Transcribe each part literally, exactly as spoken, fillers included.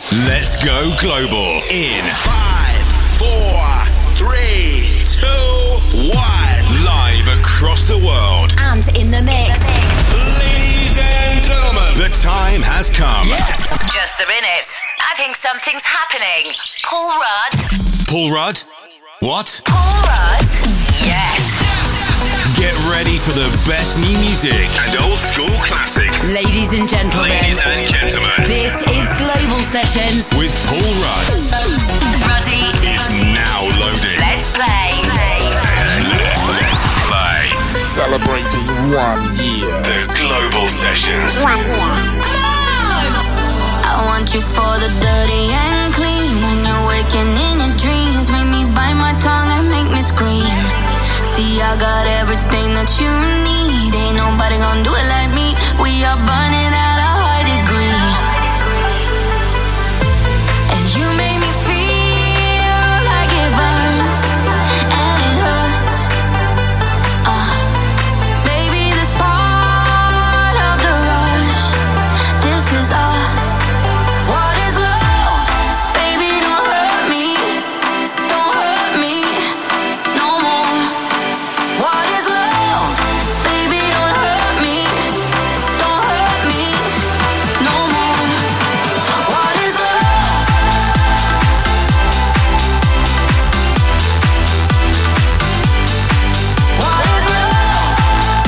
Let's go global in five, four, three, two, one. Live across the world and in the mix. Ladies and gentlemen, the time has come. Yes. Just a minute. I think something's happening. Paul Rudd. Paul Rudd? What? Paul Rudd? Yes. Get ready for the best new music and old school classics. Ladies and gentlemen. Ladies and gentlemen. This is Global Sessions with Paul Rudd. Ruddy is now loading. Let's play. Let's play. Celebrating one year. The Global Sessions. One year. I want you for the dirty and clean. When you're waking in your dreams, make me bite my tongue and make me scream. See, I got everything that you need. Ain't nobody gonna do it like me. We are burning at a high degree. And you make me feel like it burns and it hurts. Uh, baby, this part of the rush. This is us. What is love? Baby, don't hurt me. Don't hurt me no more. What is love? Baby, don't hurt me. Don't hurt me no more. What is love? What is love?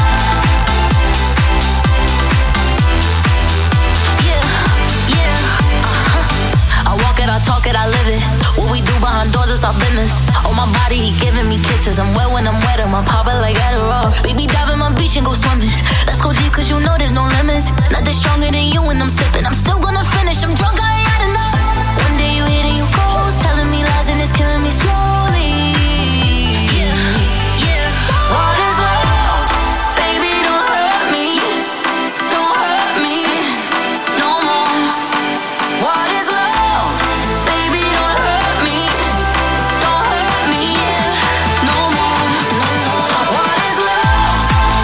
Yeah, yeah, uh-huh. I walk it, I talk it, I live it. What we do behind doors is our business. On my body, he giving me kisses. I'm wet when I'm wet, I'm popping like Adderall. Baby, dive in my beach and go swimming. Let's go deep, cause you know there's no limits. Nothing stronger than you when I'm sipping. I'm still gonna finish, I'm drunk, I ain't had enough. One day you hit and you ghost, telling me lies and it's killing me slowly. Yeah, yeah. What is love? Baby, don't hurt me. Don't hurt me no more. What is love? Baby, don't hurt me. Don't hurt me no more. What is love?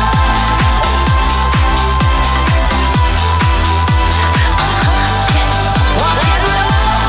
What is love?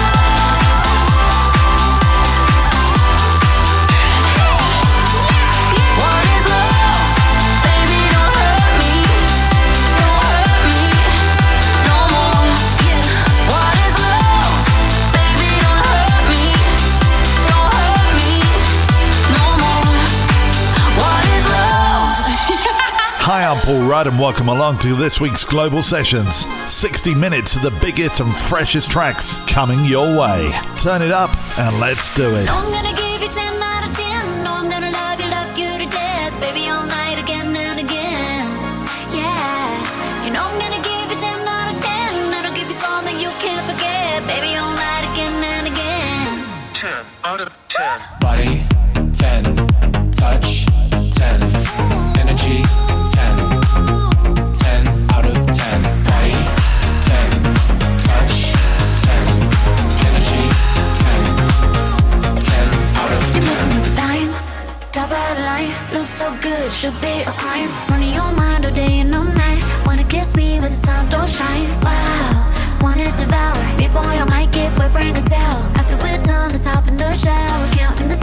What is love? Baby, don't hurt me. Don't hurt me no more. What is love? Baby, don't hurt me. Don't hurt me no more. What is love? Hi, I'm Paul Rudd and welcome along to this week's Global Sessions. sixty minutes of the biggest and freshest tracks coming your way. Turn it up and let's do it. I'm gonna give you ten out of ten. No, I'm gonna love you, love you to death. Baby, all night again and again. Yeah. You know I'm gonna give you ten out of ten. That'll give you something you can't forget. Baby, all night again and again. ten out of ten. Body, ten. Touch, ten. Energy, ten. ten out of ten. Body, ten. Touch, ten. Energy, ten. ten out of You're ten. messing with the dime. Top of the line. Looks so good, should be a crime. Running your mind all day and all night. Wanna kiss me but the sun don't shine. Wow, wanna devour me, boy, I might get wet, bring a towel. After we're done, let's hop in the shower. Counting the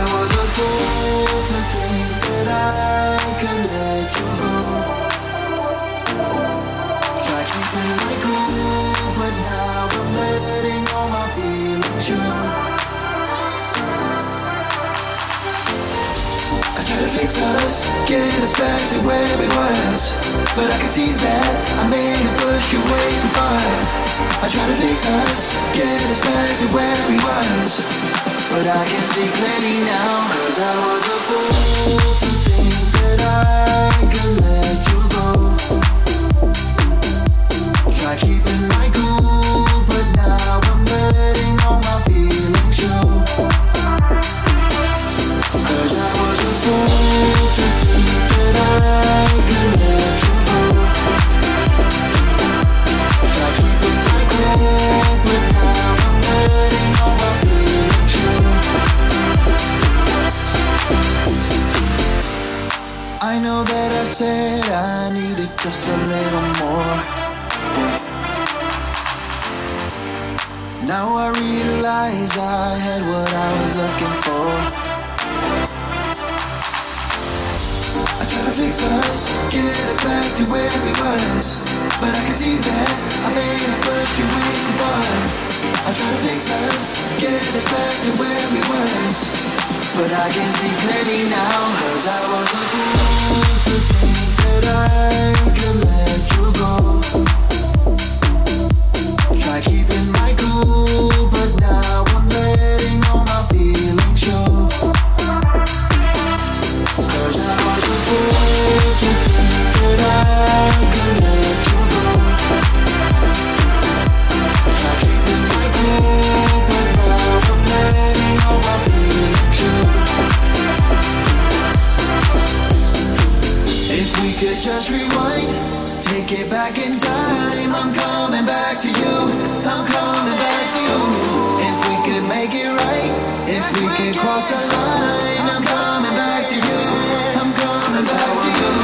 was a fool to think that I could let you go. Try keeping my cool, but now I'm letting all my feelings show. I try to fix us, get us back to where we was, but I can see that I may have pushed you way too far. I try to fix us, get us back to where we was, but I can see clearly now. Cause I was a fool to think that I could let you go. Try keeping my cool, but now I'm letting all my feelings show. Cause I was a fool to think that I could let you go. Try keeping my cool, but now I'm letting all my feelings show. I know that I said I needed just a little more. Now I realize I had what I was looking for. I try to fix us, get us back to where we was, but I can see that I may have pushed you way too far. I try to fix us, get us back to where we was, but I can see clearly now. Cause I was a fool to think that I could let you go. Try keeping my cool, but now I'm letting all my feelings show. Cause I was a fool to think that I could let you go. Try keeping my cool, but now I'm letting all my feelings show. If we could just rewind, take it back in time, I'm coming back to you, I'm coming back to you. If we could make it right, if we could cross the line, I'm coming back to you, I'm coming back to you.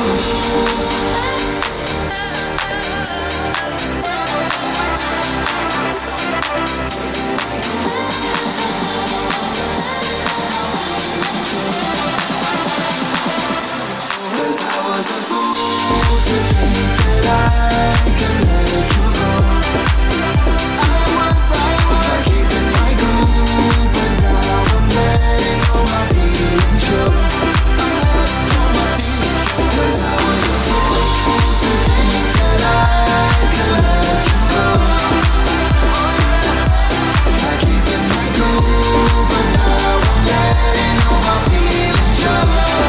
Cause I was a fool to think that I could let you go. I was, I was keeping my cool, but now I'm letting all my feelings show. I'm letting all my feelings show. Cause I was a fool to think that I could let you go. Oh yeah. Try keeping my cool, but now I'm letting all my feelings show.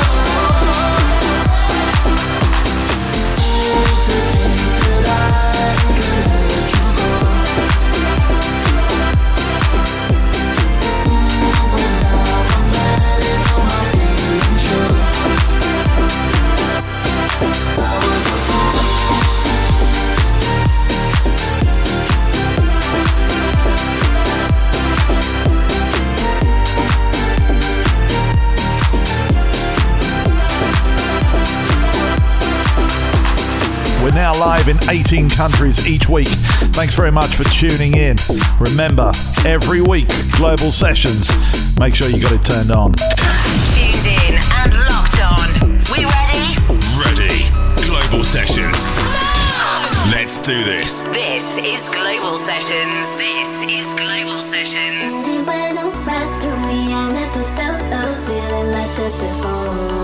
We're now live in eighteen countries each week. Thanks very much for tuning in. Remember, every week, Global Sessions. Make sure you got it turned on. Tuned in and locked on. We ready? Ready. Global Sessions. Let's do this. This is Global Sessions. This is Global Sessions. It went on right through me. I never felt a feeling like this before.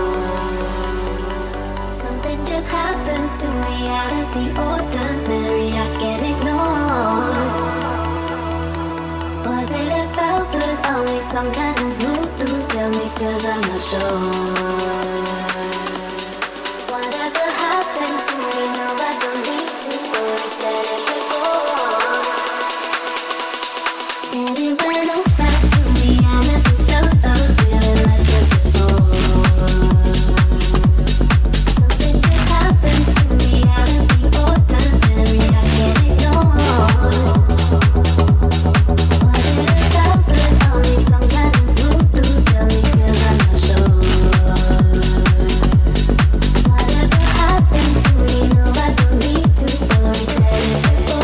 Something just happened to me out of the ordinary. I can't ignore. Was it a spell put on me? Some kind of voodoo? Tell me, cause I'm not sure. Whatever happened to me, no, I don't need to worry. Said it before. And it went on right through me. I never felt a feeling like this before. Something just happened to me out of the ordinary. I can't ignore. Was it a spell put on me? Some kind of voodoo? Tell me, cause I'm not sure. Whatever happened to me, no, I don't need to worry. Said it before.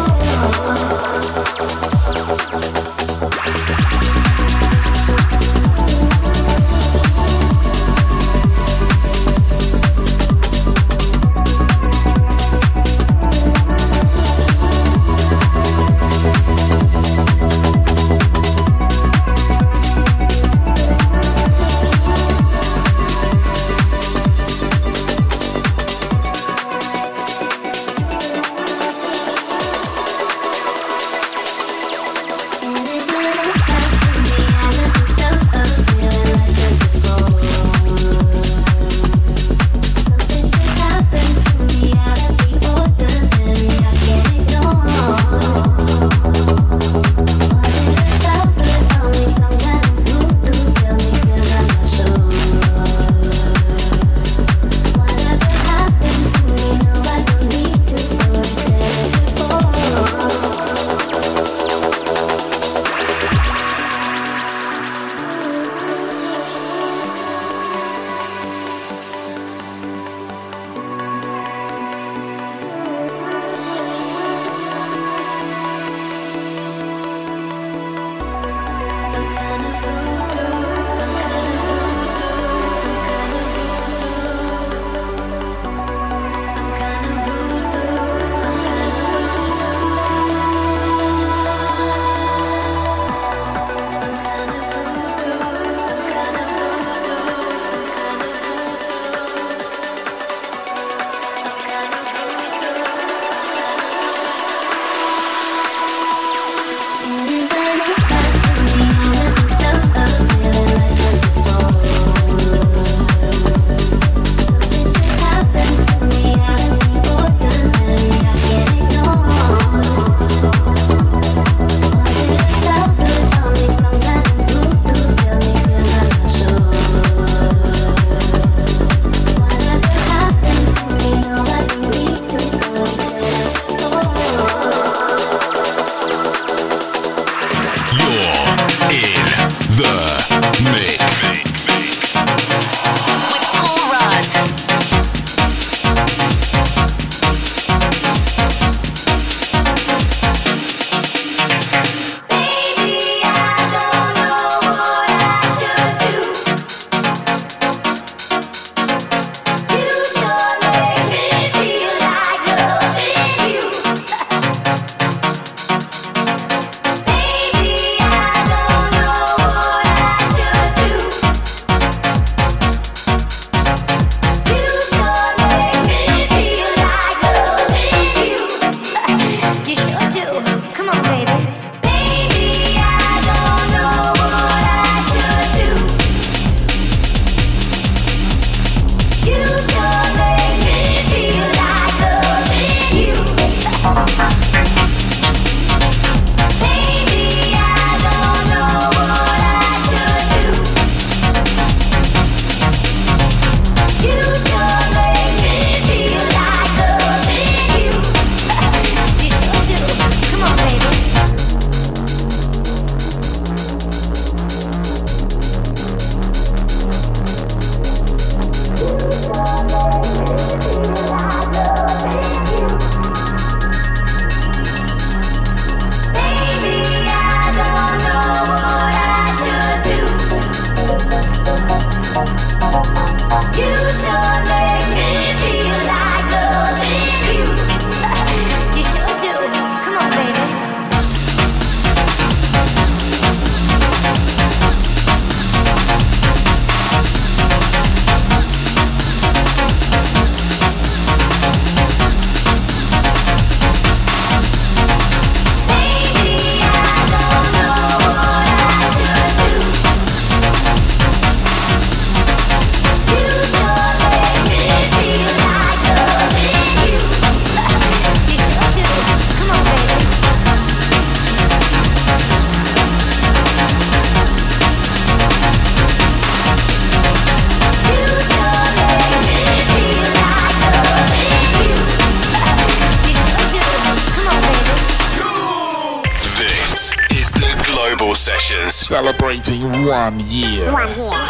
celebrating one year. One year.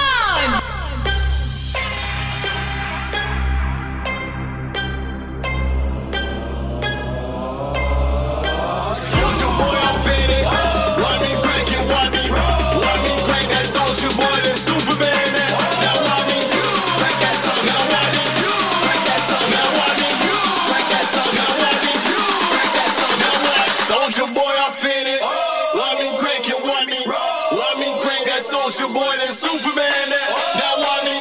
Soldier boy, I'm faded. Let me crank it, let me, let me crank that soldier boy, that Superman. That, now let me crank that song. Now let me crank that song. Now let me crank that song. Now let me crank that song. Now let soldier boy, I'm faded. Let me crank it, let me, let me crank that soldier boy, that Superman. That, now let me.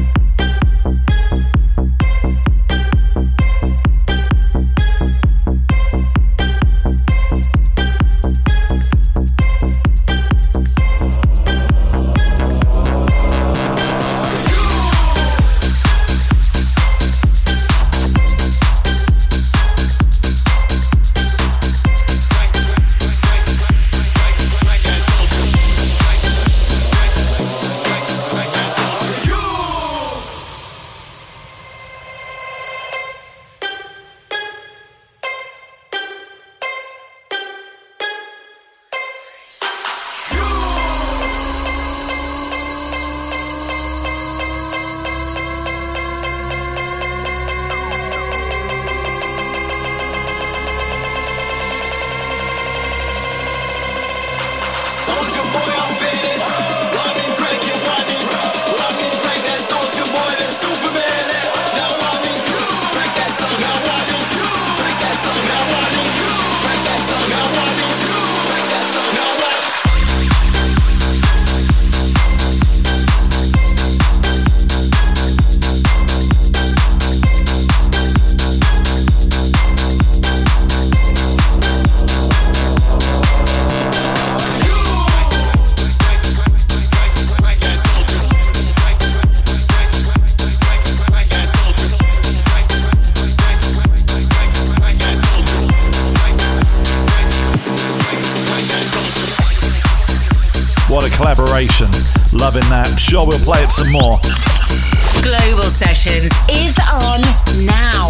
Collaboration. Loving that. Sure, we'll play it some more. Global Sessions is on now.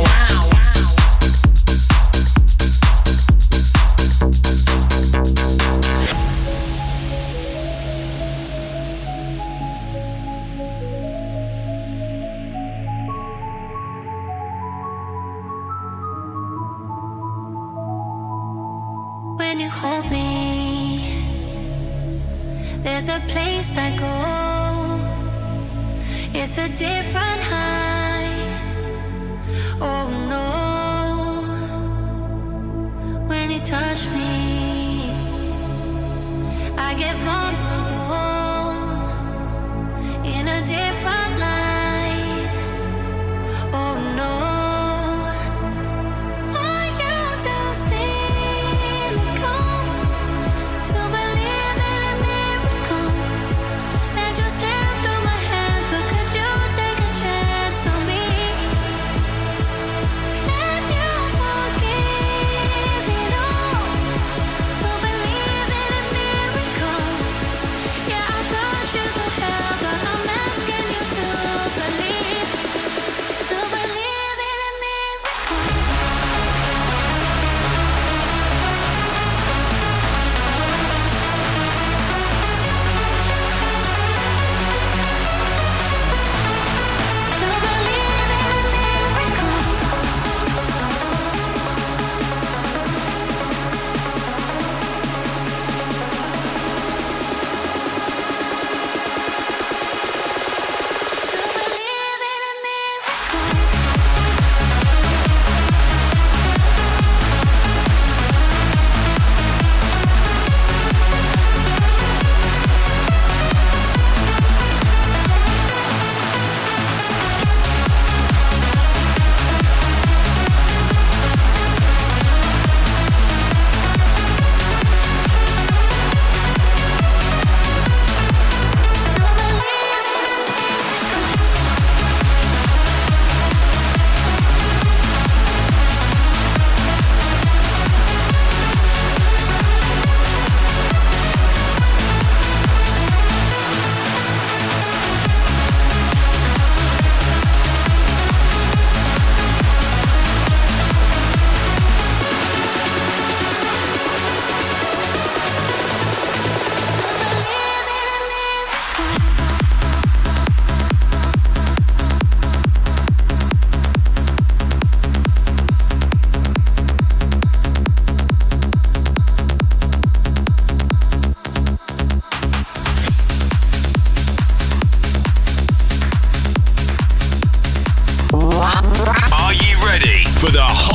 When you hold me, there's a place I go. It's a different high. Oh no. When you touch me, I get vulnerable in a different light. Oh no. Are you to see me come to believe in a miracle that you slip through my hands? But could you take a chance on me? Can you forgive me? No.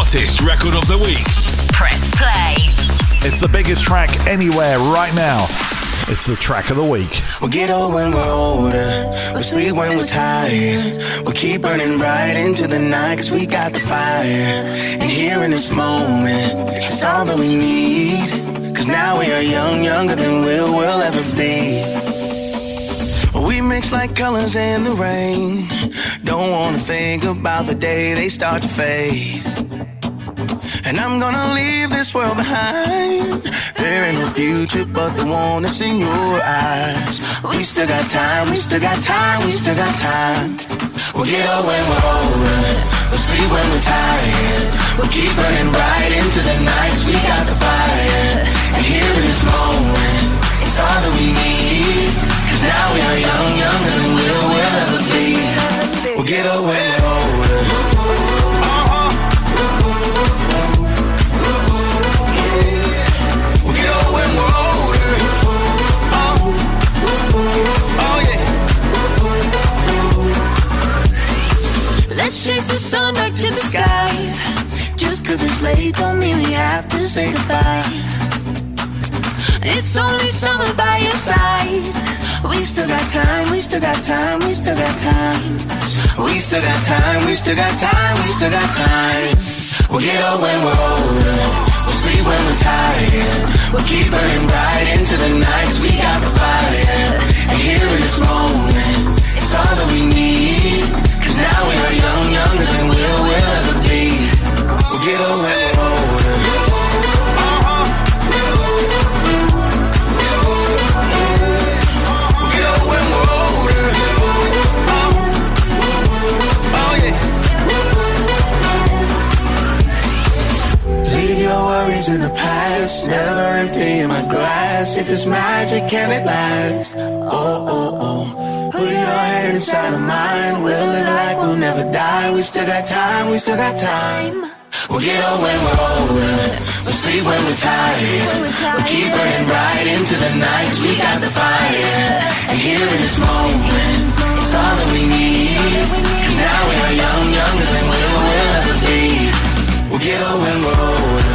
Artist Record of the Week. Press play. It's the biggest track anywhere right now. It's the track of the week. We'll get old when we're older. We'll sleep when we're tired. We'll keep burning bright into the night, cause we got the fire. And here in this moment, it's all that we need. Cause now we are young, younger than we'll, we'll ever be. We mix like colors in the rain. Don't wanna think about the day they start to fade. And I'm gonna leave this world behind. There ain't no future but the one that's in your eyes. We still got time, we still got time, we still got time. We'll get old when we're older. We'll sleep when we're tired. We'll keep burning bright into the night, cause we got the fire. And here in this moment, it's all that we need. Cause now we are young, younger than we'll, we'll ever be. We'll get old when we're older. Uh-huh. We'll get old when we're older. Oh, oh yeah. Let's chase the sun back to the sky. Just cause it's late don't mean we have to say goodbye. It's only summer by your side. We still got time, we still got time, we still got time. We still got time, we still got time, we still got time. We'll get old when we're older. We'll sleep when we're tired. We'll keep burning bright into the night, cause we got the fire. And here in this moment, it's all that we need. Cause now we are young, younger than we'll, we'll ever be. We'll get old when we're older. In the past, never empty in my glass. If it's magic, can it last? Oh, oh, oh. Put your hand inside of mine. We'll live like we'll never die. We still got time, we still got time. We'll get old when we're older. We'll sleep when we're tired. We'll keep burning bright into the night, cause we got the fire. And here in this moment, it's all that we need. Cause now we are young, younger than we'll, we'll ever be. We'll get old when we're older.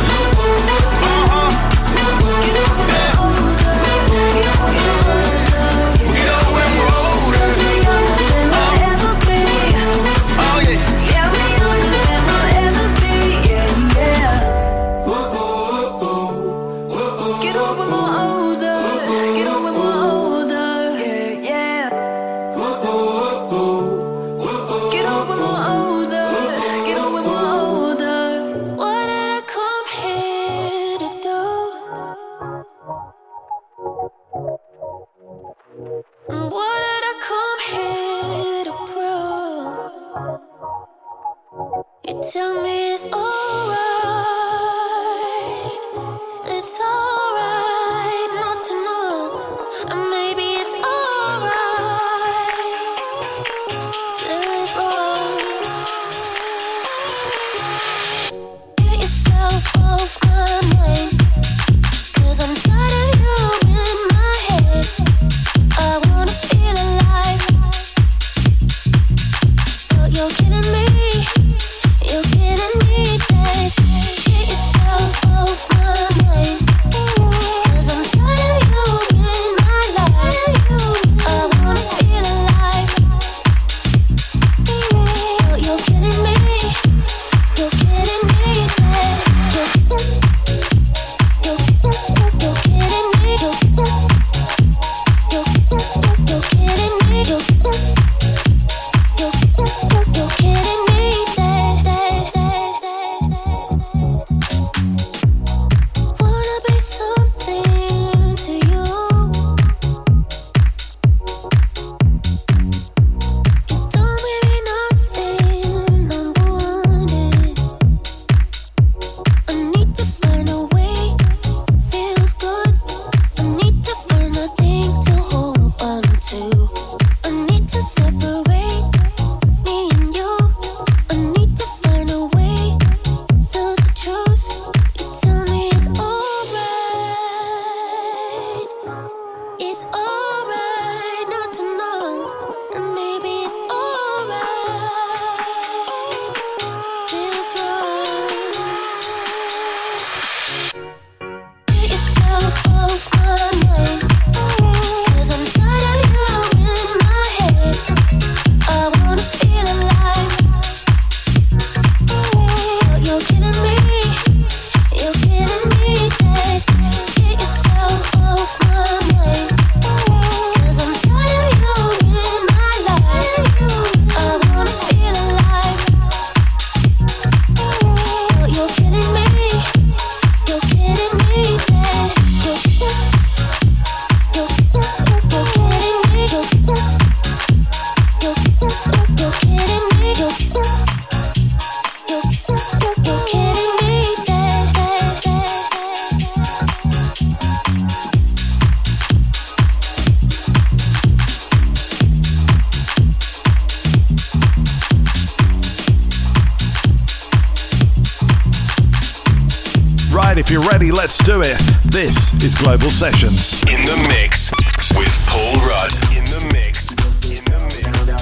Tell me it's alright. It's alright not to know. And maybe it's alright to live wrong. Get yourself off my mind, cause I'm tired of you in my head. I wanna feel Alright, if you're ready, let's do it. This is Global Sessions. In the mix with Paul Rudd. In the mix. In the mix.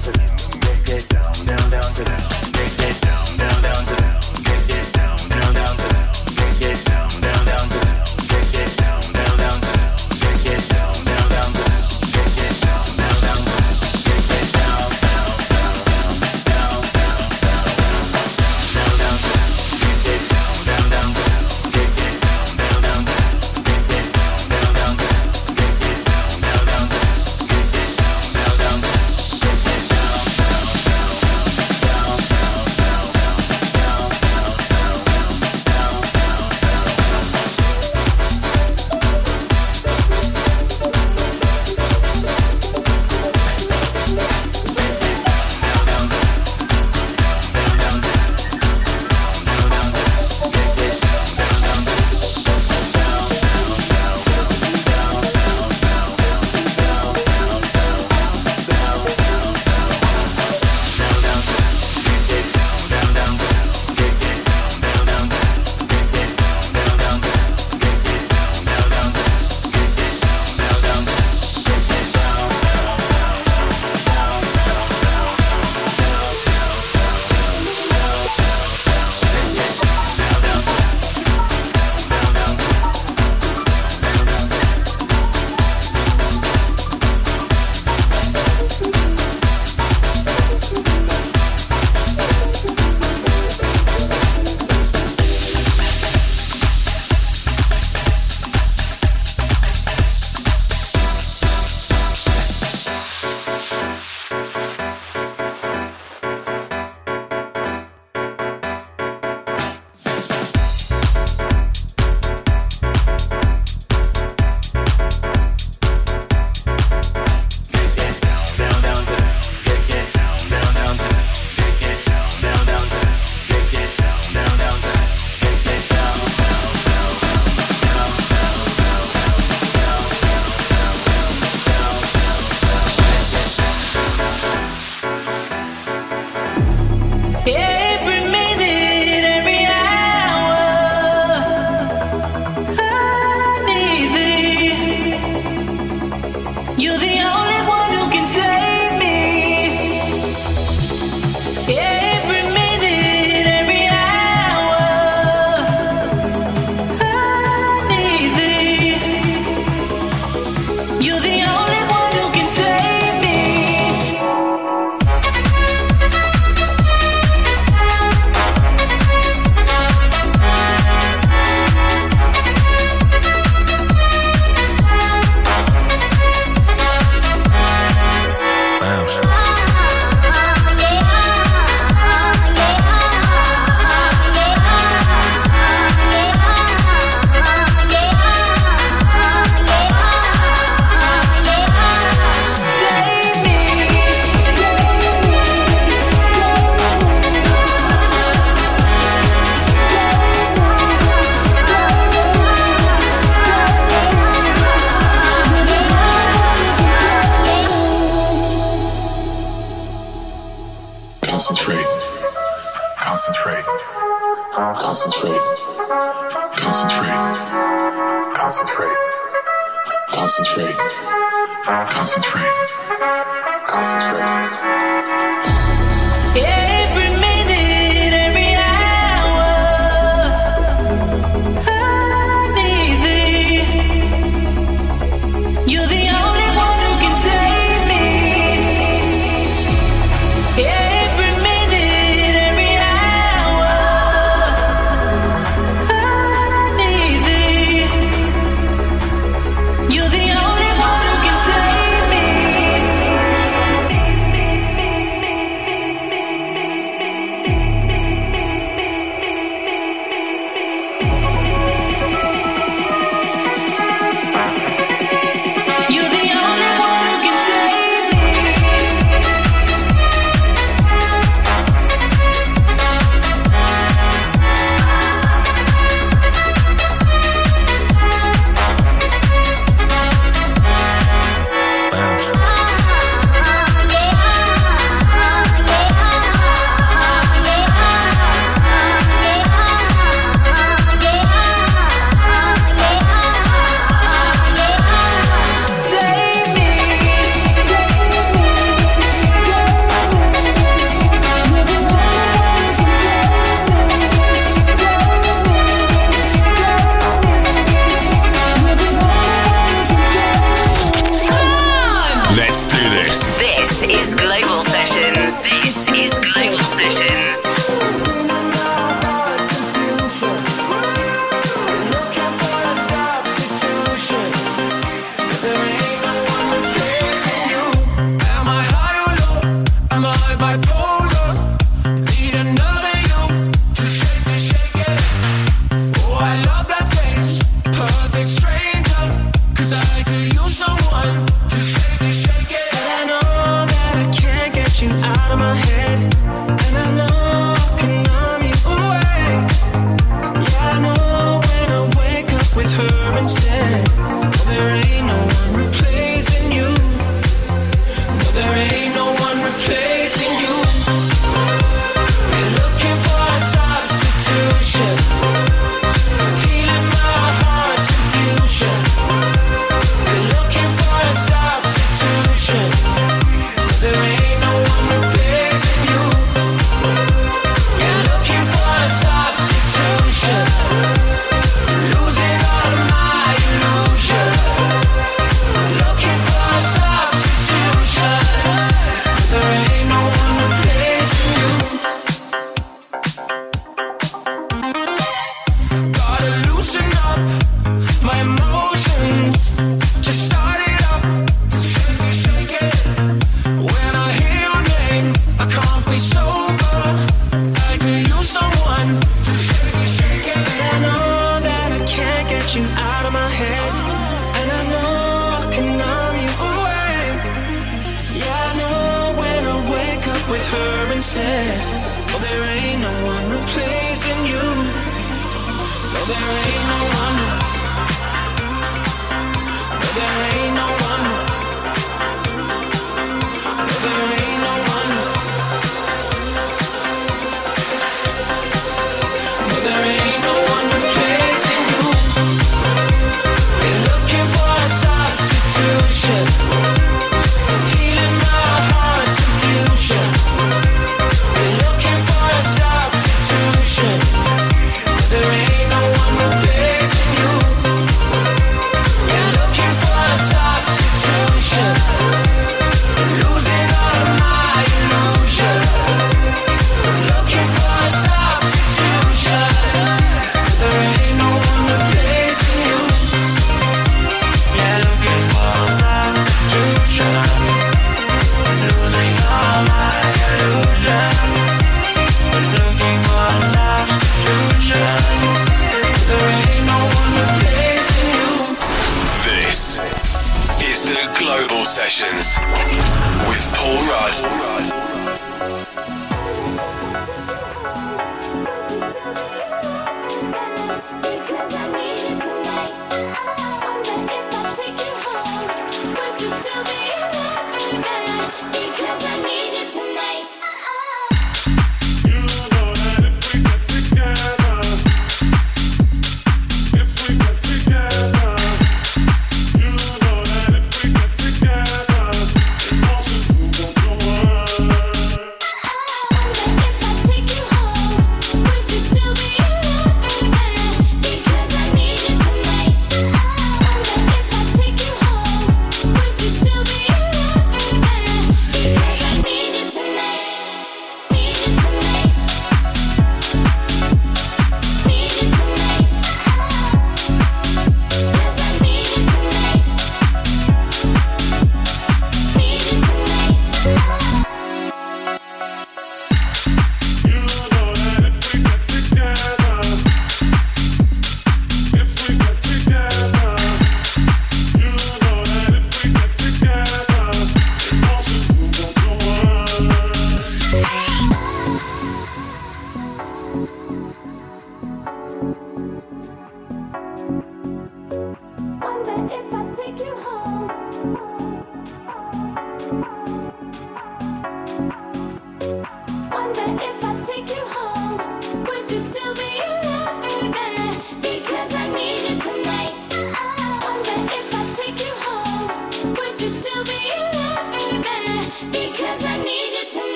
Concentrate. Concentrate. Concentrate. Concentrate. Concentrate. Concentrate. Concentrate. Concentrate. Every minute, every hour, I need thee. You're the only one who can save me. Every minute, every hour, I need thee. You're the only one who can save me. Let's do this. This is Global Sessions. This is Global Sessions.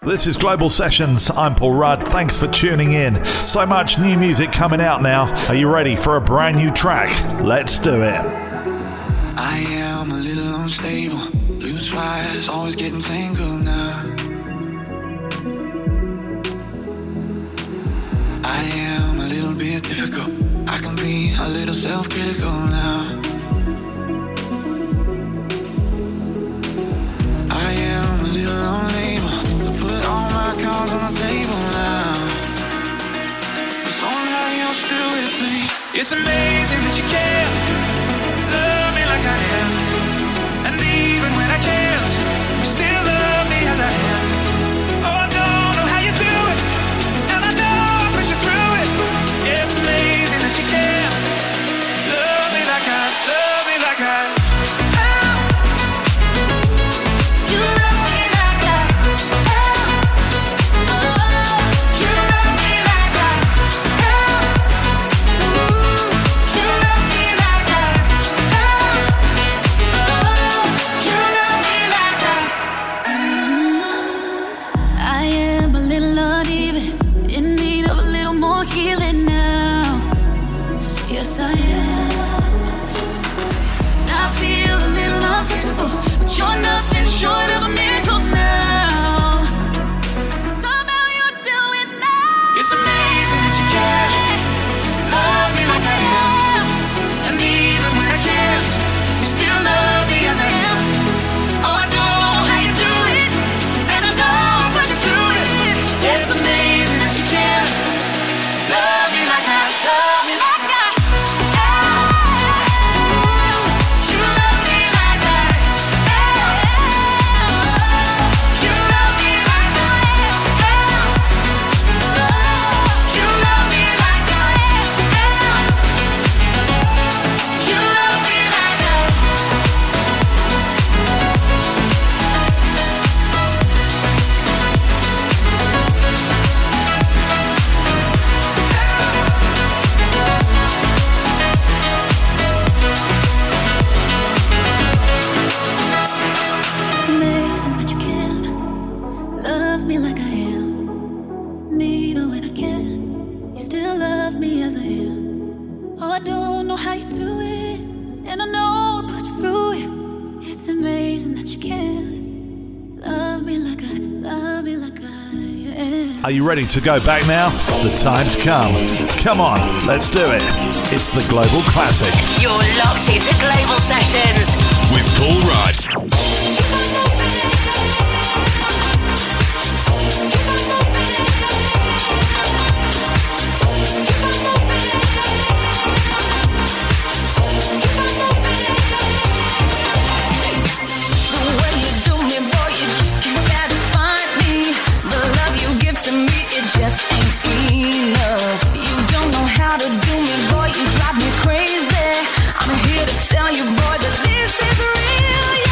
This is Global Sessions. I'm Paul Rudd. Thanks for tuning in. So much new music coming out now. Are you ready for a brand new track? Let's do it. I am a little unstable. Loose wires, always getting tangled now. I am a little bit difficult. I can be a little self-critical now. I am a little unable to put all my cards on the table now. But somehow you're still with me. It's amazing that you care. Love me like I am. And even when I can't, you still love me as I am. Oh, I don't know how you do it, and I know I put you through it. Yeah, it's amazing that you care. Love me like I, love me like I. You're nothing short of a miracle now. Somehow you're still with me. It's amazing that you care. Love me like I am. And even when I can't, you still love me as I am. Oh, I don't know how you do it, and I know I'll put you through it. It's amazing that you care. Love me like I, love me like I. Are you ready to go back now? The time's come. Come on, let's do it. It's the Global Classic. You're locked into Global Sessions with Paul Rudd. Just ain't enough. You don't know how to do me, boy. You drive me crazy. I'm here to tell you, boy, that this is real. Yeah.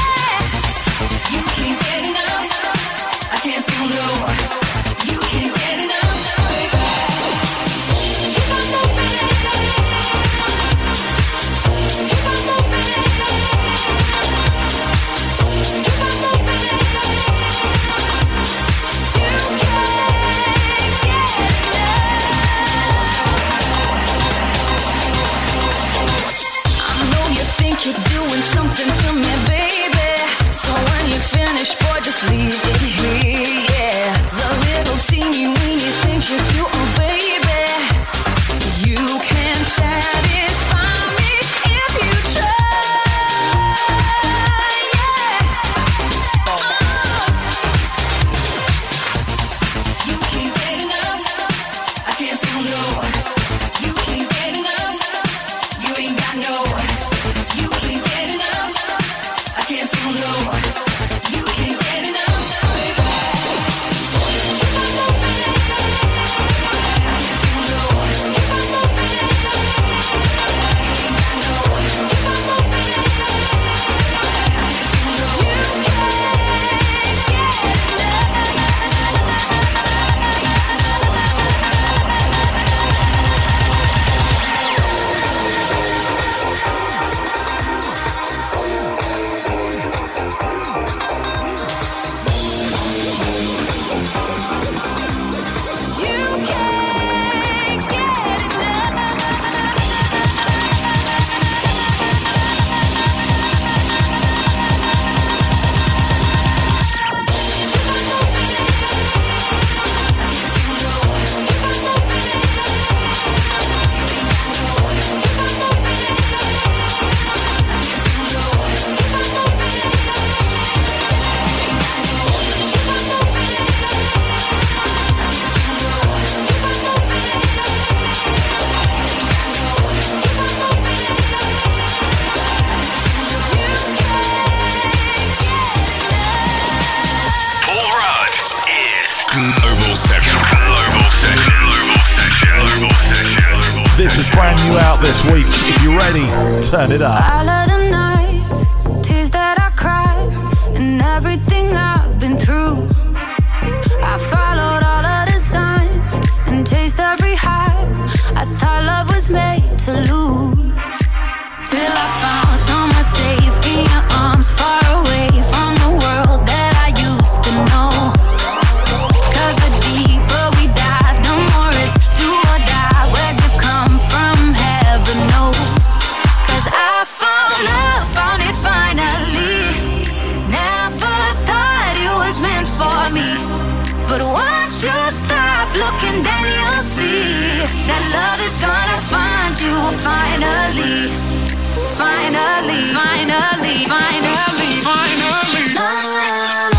out this week. If you're ready, turn it up. All of the nights, tears that I cried, and everything I've been through. I followed all of the signs and chased every high. I thought love was made to lose. Till I found somewhere safe in your arms, far away from the world that I used to know. Cause the deeper we dive, the more it's do or die. Where'd you come from? Heaven knows. Cause I found love, found it finally. Never thought it was meant for me. But once you stop looking, then you'll see that love is gonna find you finally. Finally, finally, finally, finally. La, la, la,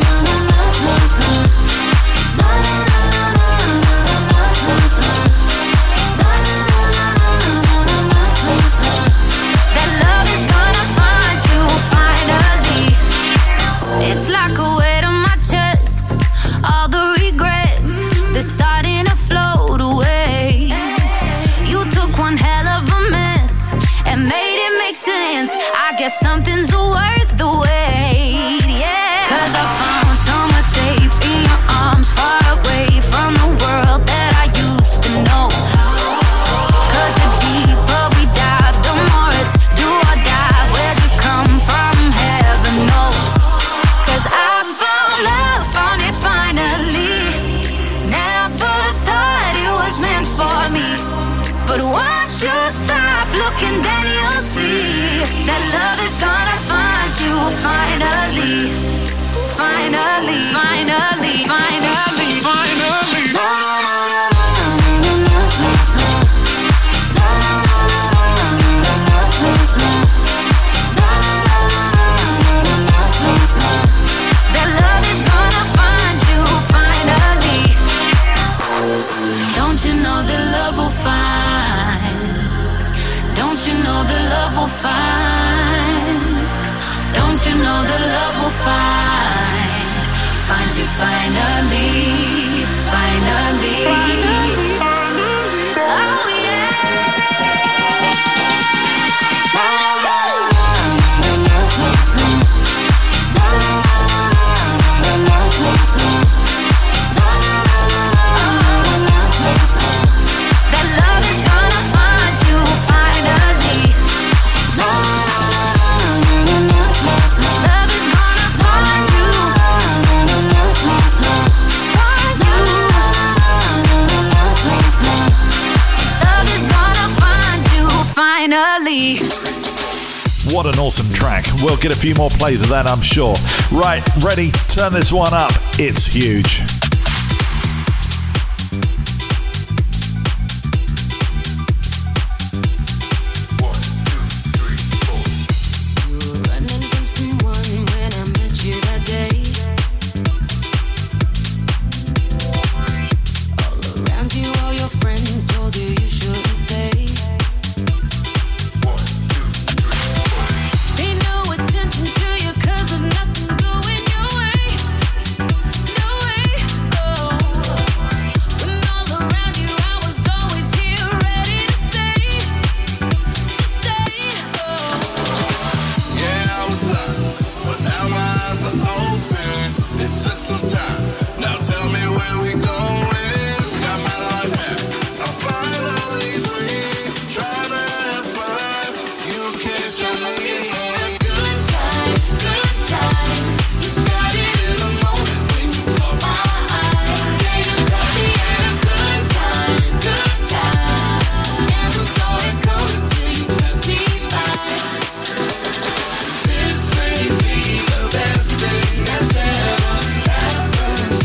that love is gonna find you finally. It's like a weight on my chest. All the regrets, they're starting to float away. You took one hell of a mess and made it make sense. I guess something's worth the wait, yeah. Cause I found somewhere safe in your arms, far away from the world that I used to know. Cause the deeper we dive, the more it's do or die. Where'd you come from? Heaven knows. Cause I found love, found it finally. Never thought it was meant for me. But once you stop looking, then you'll see that love is gonna find you finally. Finally, finally, finally, finally. La, la, la, la. That love is gonna find you finally. Don't you know that love will find? Don't you know that love will find? Don't you know that love will find? Find you finally, finally. Oh yeah. That love is gonna find you finally. Love is gonna find you. Find you. Love is gonna find you finally. What an awesome track. We'll get a few more plays of that, I'm sure. Right, ready? Turn this one up. It's huge. Running from someone when I met you that day. All around you, all your friends told you you shouldn't stay. Pay no attention to you 'cause of nothing going your way. No way, oh. When all around you, I was always here ready to stay. To stay, oh. Yeah, I was blind, but now my eyes are open. It took some time. Now tell me where we going. Got my life back. I'm finally free. Try to have fun. You can't show me. Good time, good time. You got it in the moment when you caught my eye. Yeah, you got me at a good time, good time. And I saw it coming till you passed me by. This may be the best thing that's ever happened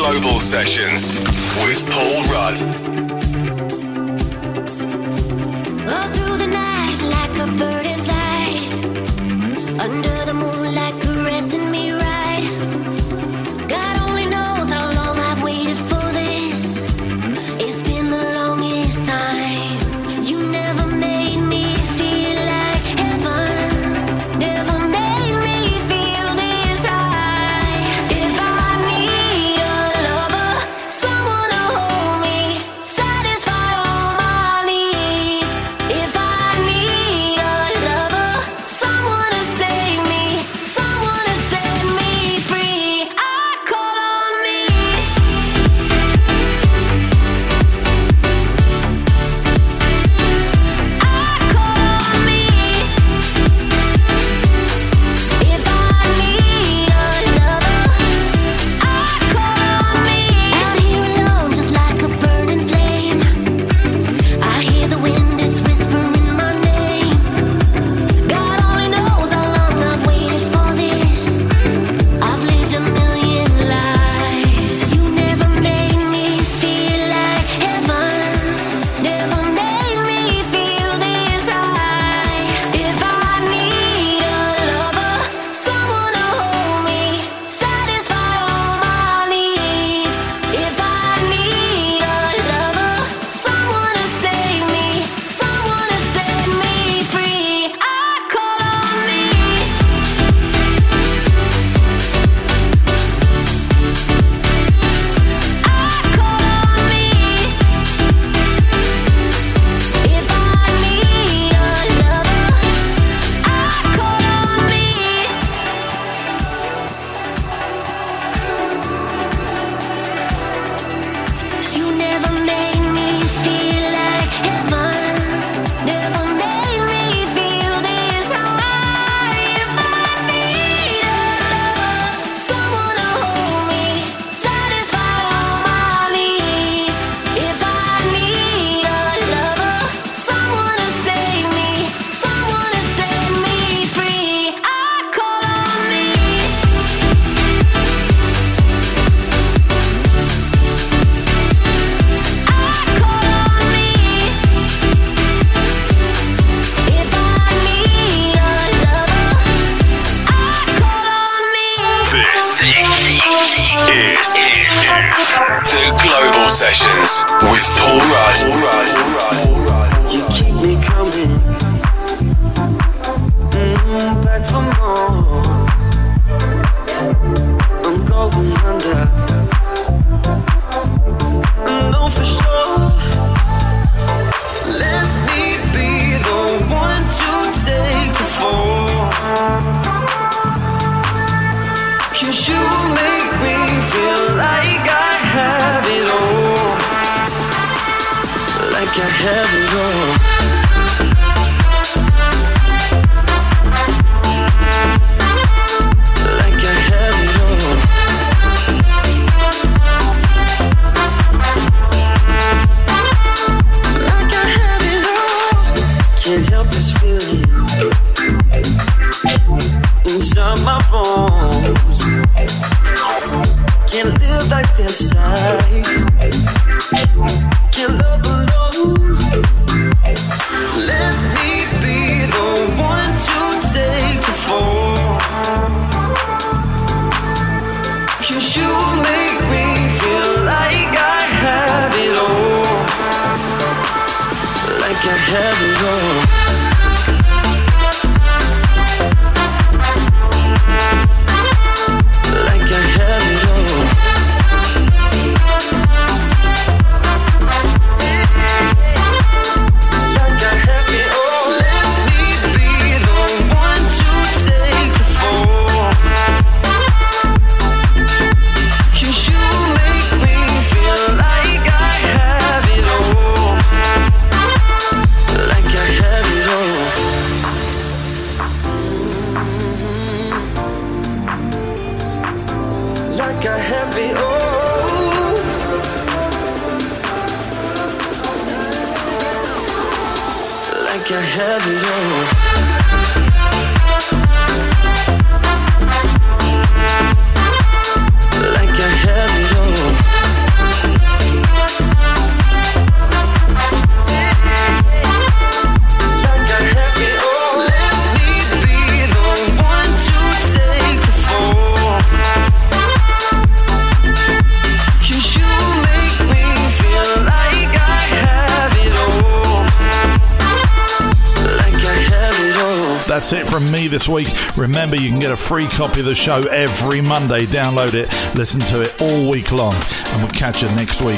Global Sessions with Paul Rudd. All through the night, like a bird in flight, under the moonlight, caressing me right. God only knows how long I've waited for this. It's been the longest time. You never made me feel like heaven. Never made me feel this high. If I need a lover, someone to hold me, satisfy all my needs. If I need a lover, someone to save me, someone to set me free, I call on me. I call on me. If I need a lover, I call on me. Out here alone, just like a burning flame, I hear the wind is whispering my name. God only knows how long I've waited for this. I've lived a million lives. You never made me feel like heaven. Never made me feel this high. If I need a lover, someone to hold me, satisfy all my needs. If I need a lover, someone to save me, someone to set me free, I call on me. I call on me. If I need a lover, I call on me. You never made me feel like heaven. Never made me feel this high. If I need a lover, someone to hold me, satisfy all my needs. If I need a lover, someone to save me, someone to set me free, I call on me. I call on me. If I need a lover, I call on me. This is the Global Sessions with Paul Rudd. You keep me coming mm, back for more. I'm going under. I know for sure. Let me be the one to take the fall. 'Cause you make me feel like I have it all. Like I have it all. Like I have it all. Like I have it all. Can't help this feeling inside my bones. Can't live like this. I can't love alone. Let me be the one to take the fall. 'Cause you make me feel like I have it all. Like I have it all. Like I have it all. Like I have it all. Let me be the one to take the fall. 'Cause you make me feel like I have it all. Like I have it all. Like I have it all. Like I have it all. Like I have it all. That's it from me this week. Remember, you can get a free copy of the show every Monday. Download it, listen to it all week long, and we'll catch you next week.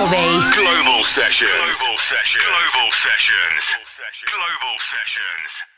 Sessions. Global Sessions. Global Sessions. Global Sessions.